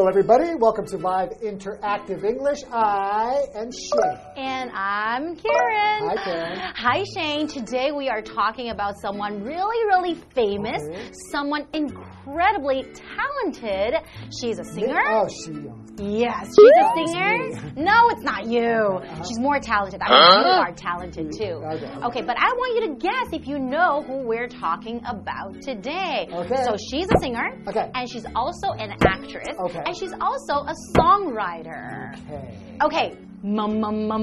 Hello, everybody. Welcome to Live Interactive English. I am Shane. And I'm Karen. Hi, Karen. Hi, Shane. Today we are talking about someone really famous, someone incredibly talented. She's a singer. Oh, she. Yes, she's a singer. No, it's not you. She's more talented. I mean, you are talented too. Okay, but I want you to guess if you know who we're talking about today. Okay. So she's a singer. Okay. And she's also an actress. Okay. And she's also a songwriter. Okay. Mum.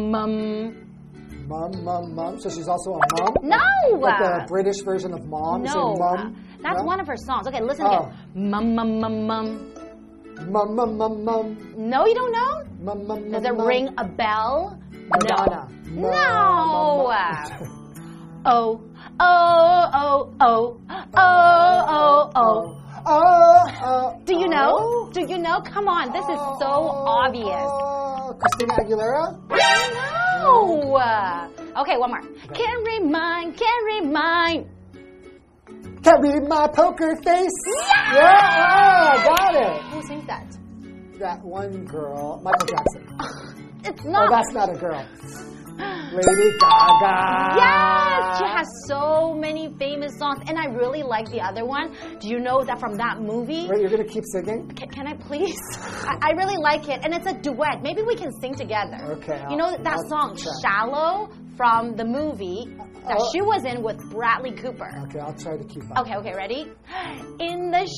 Mum. So she's also a mom? No. Like the British version of mom? No. You say mum? That's one of her songs. Okay, listen again. Mum. Mum. No, you don't know? Mum. Does it ring a bell? Madonna. No. Oh. Do you know? Do you know? Come on, this is so obvious. Christina Aguilera? No. Okay, one more. Can't remind. Can't read my poker face. Yeah! Got it. Who sings that? That one girl, Michael Jackson. It's not. Oh, that's not a girl. Lady Gaga. Yes, she has so many famous songs, and I really like the other one. Do you know that from that movie? Wait, you're gonna keep singing? Can I please? I really like it, and it's a duet. Maybe we can sing together. Okay. You know that song, "Shallow," from the movie that she was in with Bradley Cooper. Okay, I'll try to keep up. Okay, ready? In the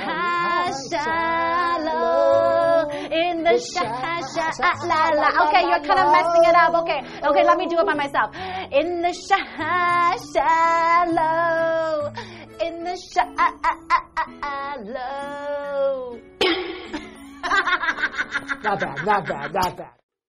shallow, in the shallow. Okay, you're kind of messing it up. Okay, let me do it by myself. In the shallow, in the shallow. Not bad.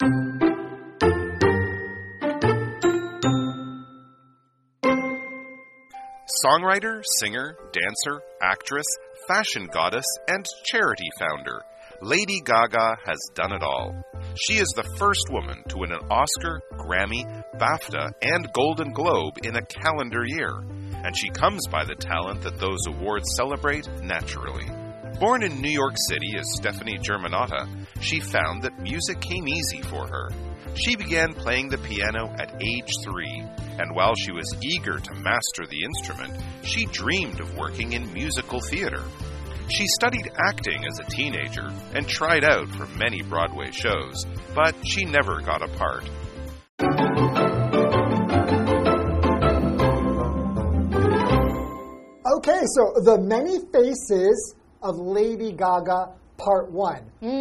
Songwriter, singer, dancer, actress, fashion goddess, and charity founder, Lady Gaga has done it all. She is the first woman to win an Oscar, Grammy, BAFTA, and Golden Globe in a calendar year, and she comes by the talent that those awards celebrate naturally. Born in New York City as Stephanie Germanotta, she found that music came easy for her. She began playing the piano at age 3, and while she was eager to master the instrument, she dreamed of working in musical theater. She studied acting as a teenager and tried out for many Broadway shows, but she never got a part. Okay, so the many faces of Lady Gaga, Part 1.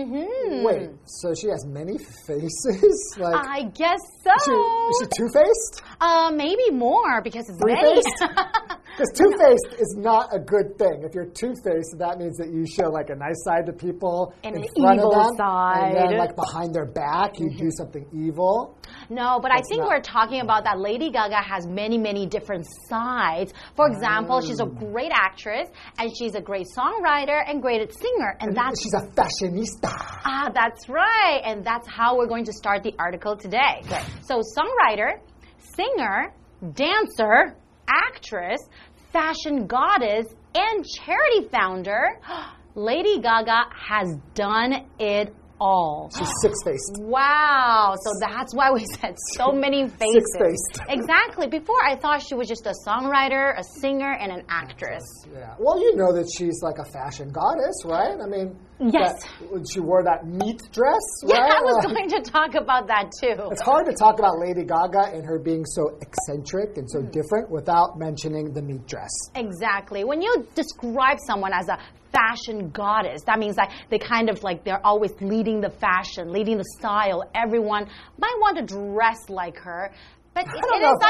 Wait, so she has many faces? Like, I guess so. Is she two-faced? Maybe more because it's Three-faced? many. Because two-faced is not a good thing. If you're two-faced, that means that you show like a nice side to people and in an front evil of them, side. and then like behind their back, you do something evil. No, but I think we're talking about that Lady Gaga has many different sides. For example, she's a great actress, and she's a great songwriter and great singer, and that's she's a fashionista. Ah, that's right, and that's how we're going to start the article today. Okay. So, songwriter, singer, dancer, actress, fashion goddess, and charity founder, Lady Gaga has done it all. She's six-faced. Wow. So that's why we said so many faces. Six-faced. Exactly. Before I thought she was just a songwriter, a singer, and an actress. Yeah. Well, you know that she's like a fashion goddess, right? I mean, yes. She wore that meat dress, Yeah, right? I was going to talk about that too. It's hard to talk about Lady Gaga and her being so eccentric and so different without mentioning the meat dress. Exactly. When you describe someone as a fashion goddess, that means like they kind of like they're always leading the fashion, leading the style. Everyone might want to dress like her. But I don't know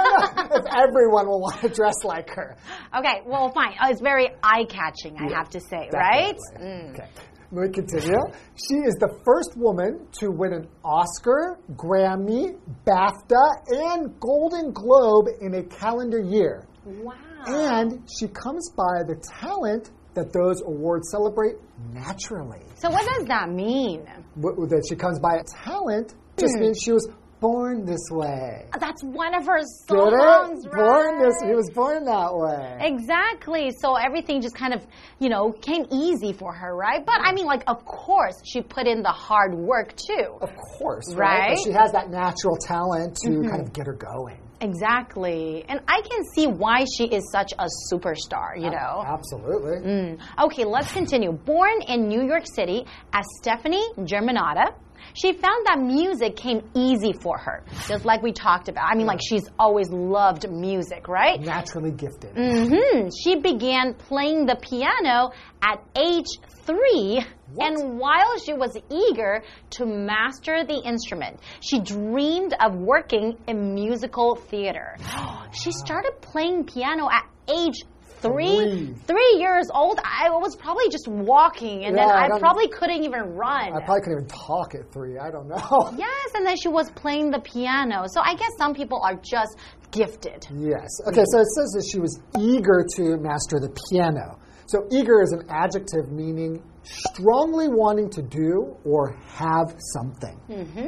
if everyone will want to dress like her. Okay, well, fine. It's very eye-catching, I have to say, right? Okay. We continue. She is the first woman to win an Oscar, Grammy, BAFTA, and Golden Globe in a calendar year. Wow. And she comes by the talent that those awards celebrate naturally. So what does that mean? That she comes by a talent just means she was born this way. That's one of her songs, right? He was born that way. Exactly. So everything just kind of, came easy for her, right? But I mean, like, of course, she put in the hard work too. Of course, right? But she has that natural talent to kind of get her going. Exactly. And I can see why she is such a superstar, Absolutely. Okay, let's continue. Born in New York City as Stephanie Germanotta, she found that music came easy for her, just like we talked about. I mean, like, she's always loved music, right? Naturally gifted. She began playing the piano at age 3. What? And while she was eager to master the instrument, she dreamed of working in musical theater. She started playing piano at age 3 years old. I was probably just walking, and then I probably couldn't even run. I probably couldn't even talk at 3. I don't know. Yes, and then she was playing the piano. So I guess some people are just gifted. Yes. Okay, so it says that she was eager to master the piano. So eager is an adjective meaning strongly wanting to do or have something.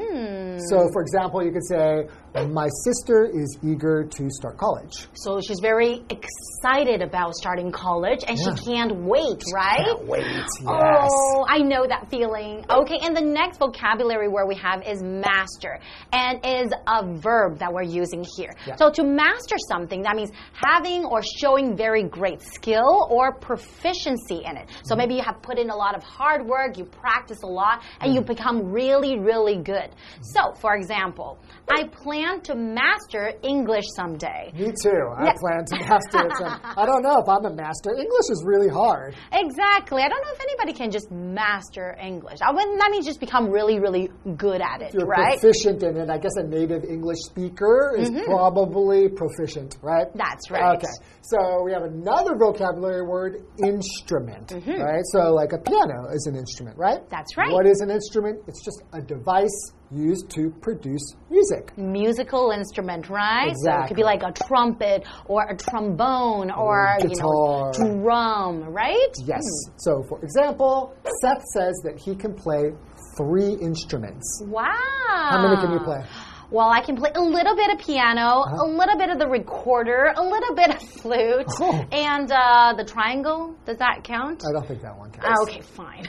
So, for example, you could say, my sister is eager to start college. So she's very excited about starting college, and she can't wait, right? Can't wait, yes. Oh, I know that feeling. Okay, and the next vocabulary word we have is master, and is a verb that we're using here. Yeah. So to master something, that means having or showing very great skill or proficiency in it. So maybe you have put in a lot of hard work, you practice a lot, and you become really, really good. So, for example, I plan to master English someday. Me too. I plan to master it someday. I don't know if I'm a master. English is really hard. Exactly. I don't know if anybody can just master English. That means just become really, really good at it, if you're right? proficient in it. I guess a native English speaker is probably proficient, right? That's right. Okay. So we have another vocabulary word, instrument, right? So like a piano is an instrument, right? That's right. What is an instrument? It's just a device used to produce music. Musical instrument, right? Exactly. So it could be like a trumpet or a trombone or guitar. Drum, right? Yes. So for example, Seth says that he can play 3 instruments. Wow. How many can you play? Well, I can play a little bit of piano, a little bit of the recorder, a little bit of flute, and the triangle. Does that count? I don't think that one counts. Okay, fine.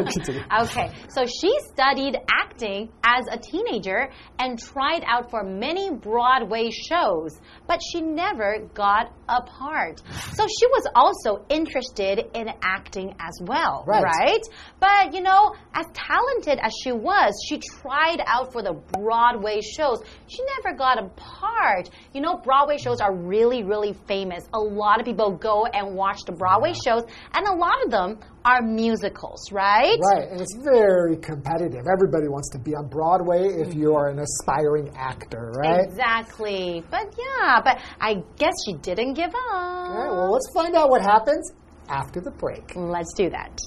Okay, so she studied acting as a teenager and tried out for many Broadway shows, but she never got a part. So she was also interested in acting as well, right? But, as talented as she was, she tried out for the Broadway shows. She never got a part. Broadway shows are really, really famous. A lot of people go and watch the Broadway shows, and a lot of them are musicals, right? Right, and it's very competitive. Everybody wants to be on Broadway if you are an aspiring actor, right? Exactly. But I guess she didn't give up. All right, well, let's find out what happens after the break. Let's do that.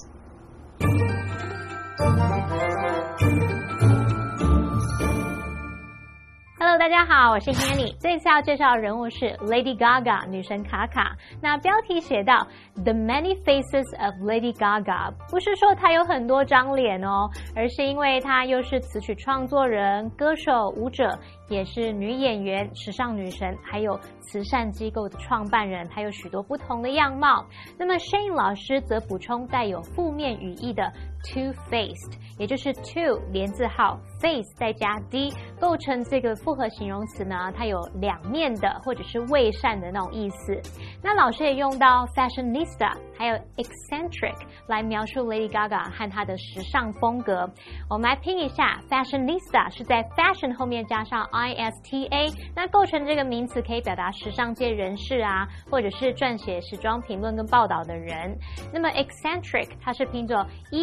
Hello， 大家好，我是 Hanny。这次要介紹的人物是 Lady Gaga 女神卡卡。那標題寫到 The Many Faces of Lady Gaga， 不是說她有很多張臉哦，而是因為她又是詞曲創作人、歌手、舞者，也是女演員、時尚女神，還有慈善機構的創辦人，還有許多不同的樣貌。那麼 Shane 老師則補充帶有負面語義的 two-faced， 也就是 two 連字號 face 再加 d 構成這個複合形容詞呢，它有兩面的或者是偽善的那種意思。那老師也用到 fashionista 還有 eccentric 來描述 Lady Gaga 和她的時尚風格。我們來拼一下 fashionista 是在 fashion 後面加上 ISTA， 那構成這個名詞可以表達時尚界人士啊，或者是撰寫時裝評論跟報道的人。那麼 eccentric 它是拼作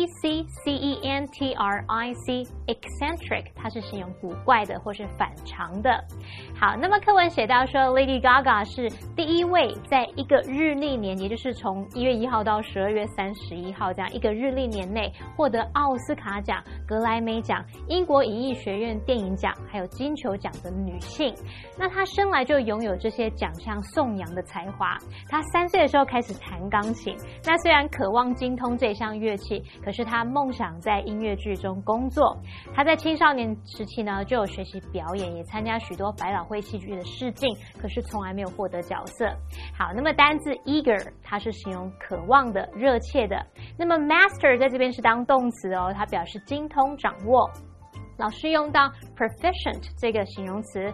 ECCENTRIC eccentric 它是形容古怪的或是反常的。好，那麼課文寫到說 Lady Gaga 是第一位在一個日曆年，也就是從1月1號到12月31號這樣一個日曆年內獲得奧斯卡獎、格萊美獎、英國影藝學院電影獎還有金球獎的女性。那她生來就擁有這些獎項頌揚的才華。她3歲的時候開始彈鋼琴。那雖然渴望精通這項樂器，可是她夢想在音樂劇中工作。她在青少年時期呢，就有學習表演，也參加許多百老匯戲劇的試鏡，可是從來沒有獲得角色。好，那麼單字 eager 它是形容渴望的、熱切的。那麼 master 在這邊是當動詞哦，它表示精通、掌握。老師用到 proficient 這個形容詞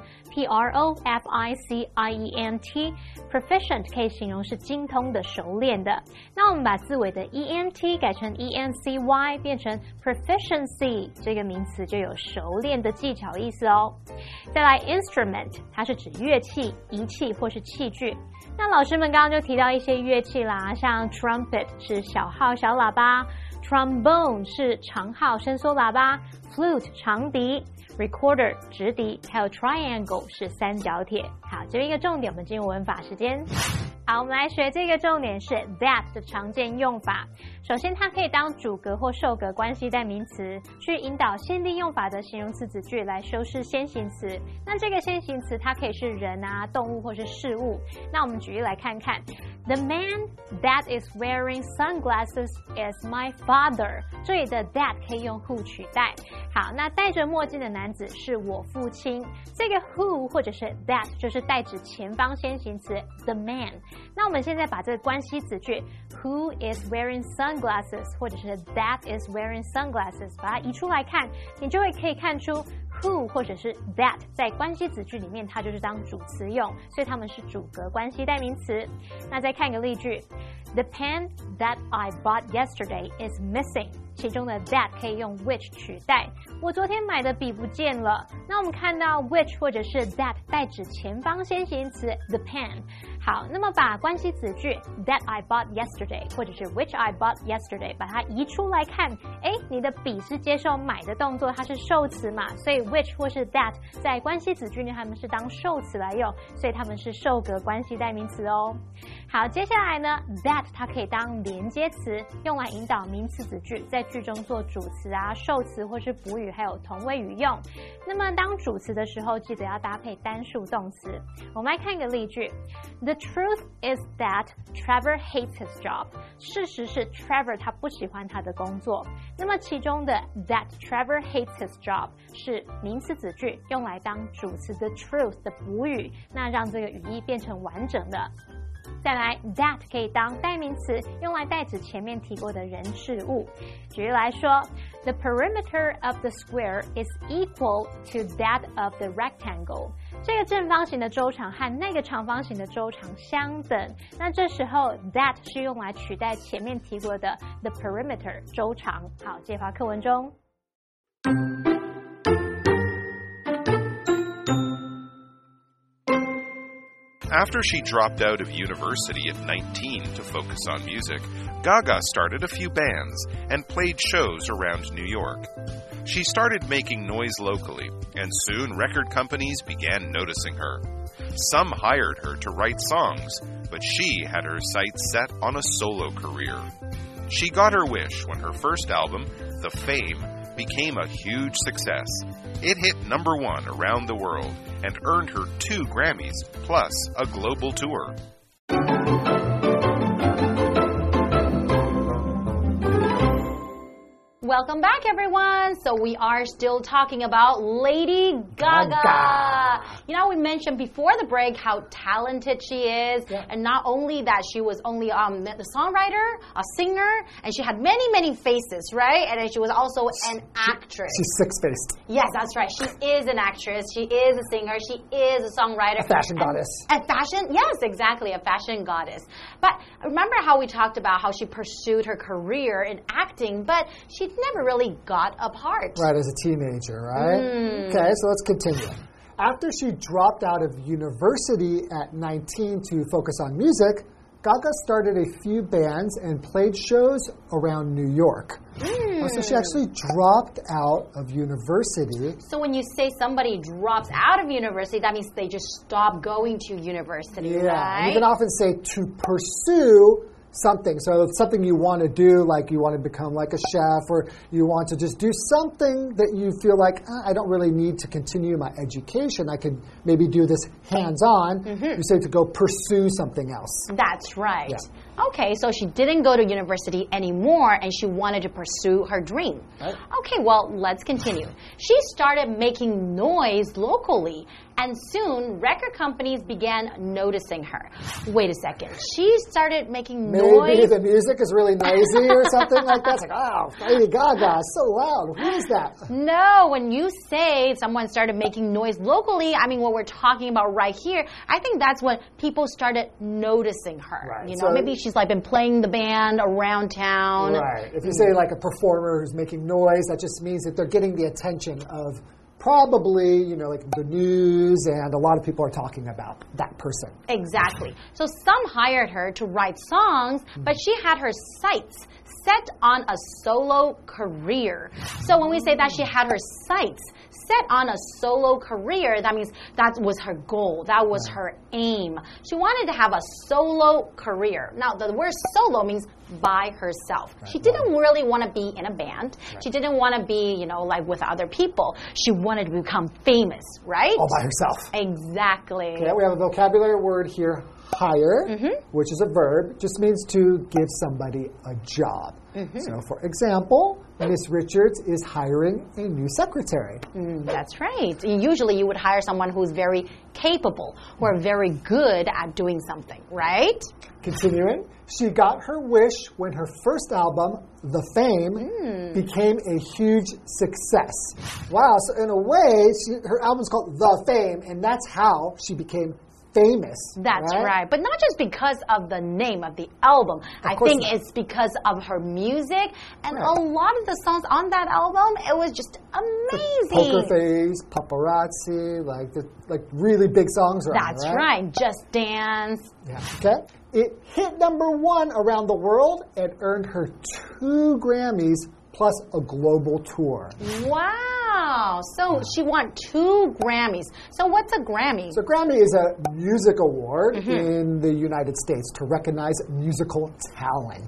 P-R-O-F-I-C-I-E-N-T proficient 可以形容是精通的、熟練的。那我們把字尾的 E-N-T 改成 E-N-C-Y 變成 proficiency 這個名詞就有熟練的技巧意思哦。再來 instrument 它是指樂器、儀器或是器具。那老師們剛剛就提到一些樂器啦，像 trumpet 是小號小喇叭， trombone 是長號伸縮喇叭， flute 長笛， recorder 直笛，還有 triangle 是三角鐵。好，这邊一個重點，我們進入文法時間。好，我們來學這個重點是 that 的常見用法。首先，它可以當主格或受格關係代名詞，去引導限定用法的形容詞子句來修飾先行詞。那這個先行詞它可以是人啊、動物或是事物。那我們舉例來看看 ，The man that is wearing sunglasses is my father。這裡的 that 可以用 who 取代。好，那戴着墨鏡的男子是我父親。這個 who 或者是 that 就是代指前方先行詞 the man。那我們現在把這個關係子句 who is wearing sunglasses 或者是 that is wearing sunglasses 把它移出來看，你就可以看出 who 或者是 that 在關係子句裡面它就是當主詞用，所以它們是主格關係代名詞。那再看一個例句 The pen that I bought yesterday is missing。其中的 that 可以用 which 取代。我昨天買的筆不見了。那我們看到 which 或者是 that 代指前方先行詞 the pen。好，那麼把關係子句 that I bought yesterday 或者是 which I bought yesterday 把它移出來看，你的筆是接受買的動作，它是受詞嘛，所以 which 或是 that 在關係子句呢，它們是當受詞來用，所以它們是受格關係代名詞哦。好，接下來呢 that 它可以當連接詞，用來引導名詞子句在句中做主詞啊、受詞或是补語，還有同位語用。那麼當主詞的時候，記得要搭配单數動詞。我們來看一個例句 The truth is that Trevor hates his job。 事實是 Trevor 他不喜歡他的工作。那麼其中的 that Trevor hates his job 是名詞子句，用來當主詞 the truth 的補語，那讓這個語義變成完整的。再來 that 可以當代名詞，用來代指前面提過的人事物。舉例來說 The perimeter of the square is equal to that of the rectangle。 這個正方形的周長和那個長方形的周長相等。那這時候 that 是用來取代前面提過的 the perimeter 周長。好，介紹課文中。 After she dropped out of university at 19 to focus on music, Gaga started a few bands and played shows around New York. She started making noise locally, and soon record companies began noticing her. Some hired her to write songs, but she had her sights set on a solo career. She got her wish when her first album, The Fame, became a huge success. It hit #1 around the world and earned her 2 Grammys, plus a global tour. Welcome back, everyone. So we are still talking about Lady Gaga. You know, we mentioned before the break how talented she is. Yeah. And not only that, she was only the songwriter, a singer, and she had many, many faces, right? And then she was also an actress. She's six-faced. Yes, that's right. She is an actress. She is a singer. She is a songwriter. A fashion goddess. A fashion, yes, exactly, a fashion goddess. But remember how we talked about how she pursued her career in acting, but she never really got a part. Right, as a teenager, right? Okay, so let's continue. After she dropped out of university at 19 to focus on music, Gaga started a few bands and played shows around New York. So she actually dropped out of university. So when you say somebody drops out of university, that means they just stop going to university, right? You can often say to pursue something. So it's something you want to do, like you want to become like a chef, or you want to just do something that you feel like, I don't really need to continue my education. I could maybe do this hands-on. You say to go pursue something else. That's right. Yeah. Okay, so she didn't go to university anymore and she wanted to pursue her dream. Right. Okay, well, let's continue. She started making noise locally, and soon record companies began noticing her. Wait a second. She started making noise. Maybe the music is really noisy or something like that. It's like, oh, Lady Gaga, so loud. Who is that? No, when you say someone started making noise locally, I mean what we're talking about right here, I think that's when people started noticing her. Right. You know, maybe she's like been playing the band around town. Right. If you say like a performer who's making noise, that just means that they're getting the attention of probably, you know, like the news, and a lot of people are talking about that person. Exactly. So some hired her to write songs, but she had her sights set on a solo career. So when we say that she had her sights set on a solo career, that means that was her goal. That was her aim. She wanted to have a solo career. Now, the word solo means by herself. She didn't really want to be in a band. She didn't want to be, you know, like with other people. She wanted to become famous, right? All by herself. Exactly. Okay, we have a vocabulary word here, hire, which is a verb, just means to give somebody a job. So, for example, Miss Richards is hiring a new secretary. That's right. Usually you would hire someone who's very capable, who are very good at doing something, right? Continuing, she got her wish when her first album, The Fame, became a huge success. Wow, so in a way, her album's called The Fame, and that's how she became famous. That's right. But not just because of the name of the album. I think it's because of her music, and a lot of the songs on that album, it was just amazing. Poker Face, Paparazzi, like really big songs. That's right. Just Dance. Yeah. Okay. It hit #1 around the world and earned her 2 Grammys plus a global tour. Wow. So she won 2 Grammys. So what's a Grammy? So Grammy is a music award in the United States to recognize musical talent.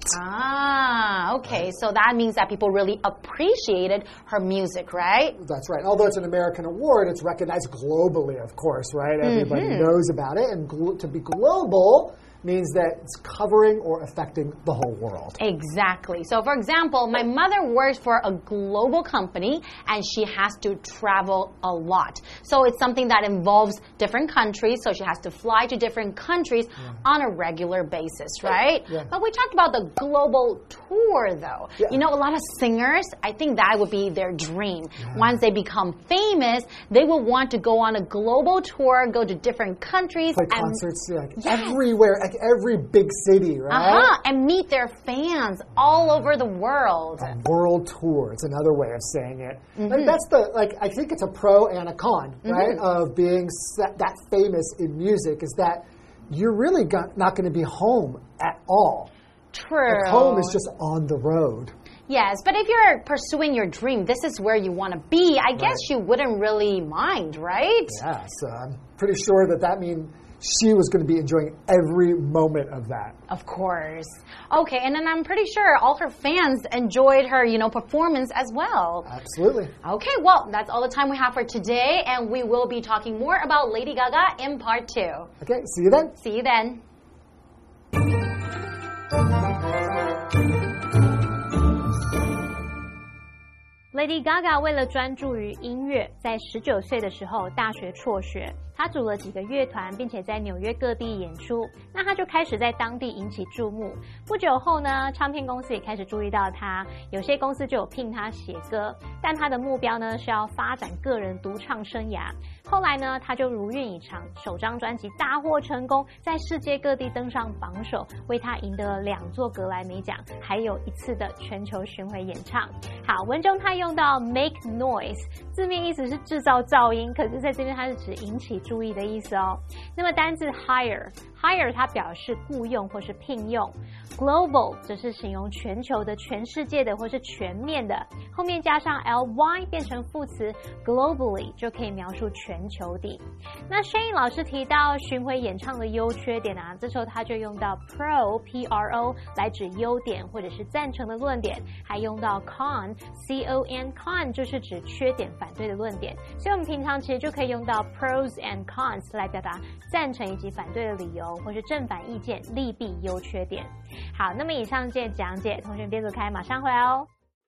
Ah, okay. So that means that people really appreciated her music, right? That's right. Although it's an American award, it's recognized globally, of course, right? Everybody knows about it. And to be global means that it's covering or affecting the whole world. Exactly. So, for example, my mother works for a global company and she has to travel a lot. So, it's something that involves different countries. So, she has to fly to different countries on a regular basis, right? But we talked about the global tour, though. You know, a lot of singers, I think that would be their dream. Once they become famous, they will want to go on a global tour, go to different countries. Play concerts everywhere. Like every big city, right? And meet their fans all over the world. A world tour. It's another way of saying it. That's I think it's a pro and a con, right? Of being that famous in music is that you're really not going to be home at all. True. Like home is just on the road. Yes, but if you're pursuing your dream, this is where you want to be, I guess you wouldn't really mind, right? Yeah, so I'm pretty sure that means she was going to be enjoying every moment of that. Of course. Okay, and then I'm pretty sure all her fans enjoyed her, performance as well. Absolutely. Okay, well, that's all the time we have for today, and we will be talking more about Lady Gaga in part 2. Okay, see you then. See you then. Lady Gaga 为了专注于音乐，在19岁的时候大学輟学。她組了幾個樂團，並且在紐約各地演出。那她就開始在當地引起注目。不久後呢，唱片公司也開始注意到她，有些公司就有聘她寫歌，但她的目標呢是要發展個人獨唱生涯。後來呢，她就如願以償，首張專輯大獲成功，在世界各地登上榜首，為她贏得了2座格萊美獎，還有1次的全球巡迴演唱。好，文中她用到 make noise， 字面意思是製造噪音，可是在這邊它是指引起注意的意思哦。那麼單字 hire Hire 它表示雇用或是聘用 ，global 则是形容全球的、全世界的或是全面的，后面加上 ly 变成副詞 globally 就可以描述全球的。那 Shane 老師提到巡迴演唱的優缺點啊，這時候他就用到 pro 來指優點或者是贊成的論點，還用到 con con 就是指缺點、反對的論點，所以我們平常其實就可以用到 pros and cons 來表達贊成以及反對的理由，或是正反意見、利弊優缺點。好，那麼以上這些講解，同學別走開，馬上回來哦。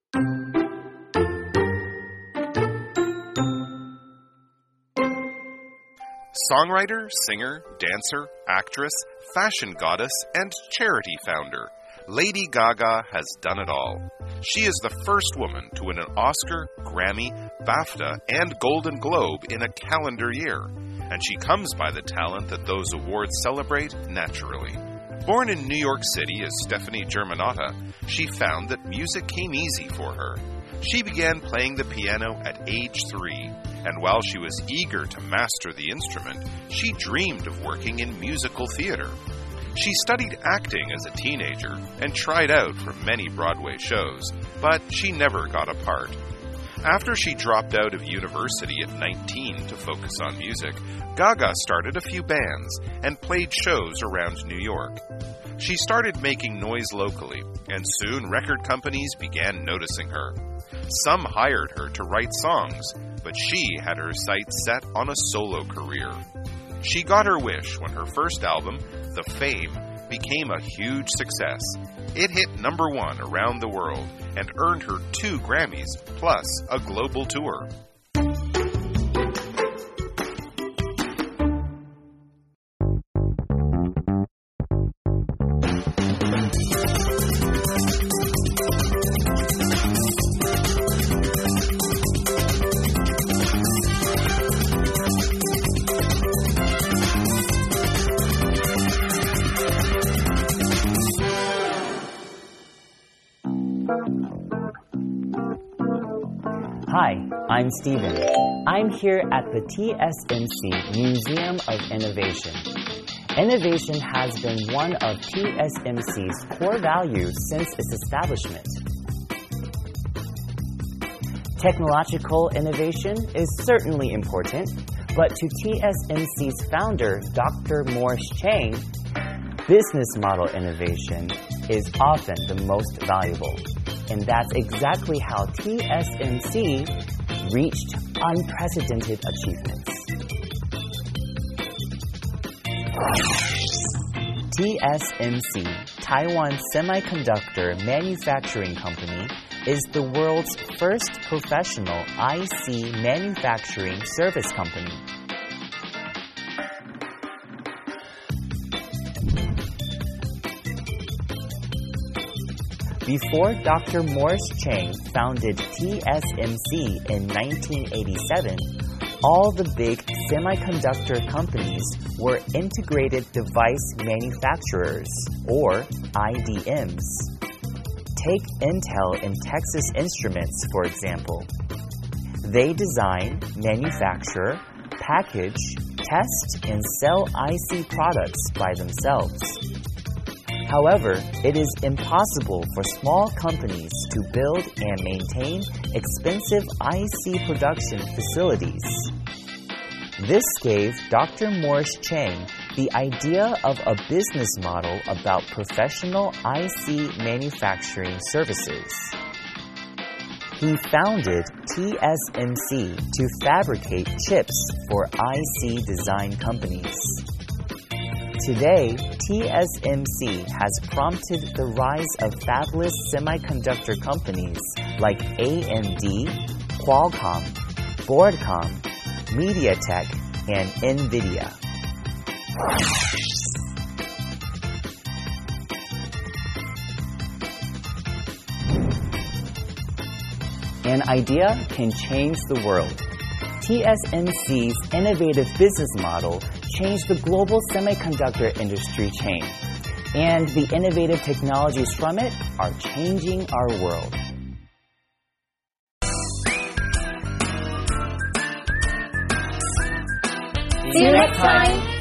Songwriter, singer, dancer, actress, fashion goddess, and charity founder, Lady Gaga has done it all. She is the first woman to win an Oscar, Grammy, BAFTA, and Golden Globe in a calendar year, and she comes by the talent that those awards celebrate naturally. Born in New York City as Stephanie Germanotta, she found that music came easy for her. She began playing the piano at age 3, and while she was eager to master the instrument, she dreamed of working in musical theater. She studied acting as a teenager and tried out for many Broadway shows, but she never got a part. After she dropped out of university at 19 to focus on music, Gaga started a few bands and played shows around New York. She started making noise locally, and soon record companies began noticing her. Some hired her to write songs, but she had her sights set on a solo career. She got her wish when her first album, The Fame, became a huge success. It hit #1 around the world and earned her 2 Grammys, plus a global tour. Hi, I'm Steven. I'm here at the TSMC Museum of Innovation. Innovation has been one of TSMC's core values since its establishment. Technological innovation is certainly important, but to TSMC's founder, Dr. Morris Chang, business model innovation is often the most valuable. And that's exactly how TSMC reached unprecedented achievements. TSMC, Taiwan Semiconductor Manufacturing Company, is the world's first professional IC manufacturing service company. Before Dr. Morris Chang founded TSMC in 1987, all the big semiconductor companies were integrated device manufacturers, or IDMs. Take Intel and Texas Instruments, for example. They design, manufacture, package, test, and sell IC products by themselves. However, it is impossible for small companies to build and maintain expensive IC production facilities. This gave Dr. Morris Chang the idea of a business model about professional IC manufacturing services. He founded TSMC to fabricate chips for IC design companies. Today, TSMC has prompted the rise of fabless semiconductor companies like AMD, Qualcomm, Broadcom, MediaTek, and NVIDIA. An idea can change the world. TSMC's innovative business model changed the global semiconductor industry chain, and the innovative technologies from it are changing our world. See you next time!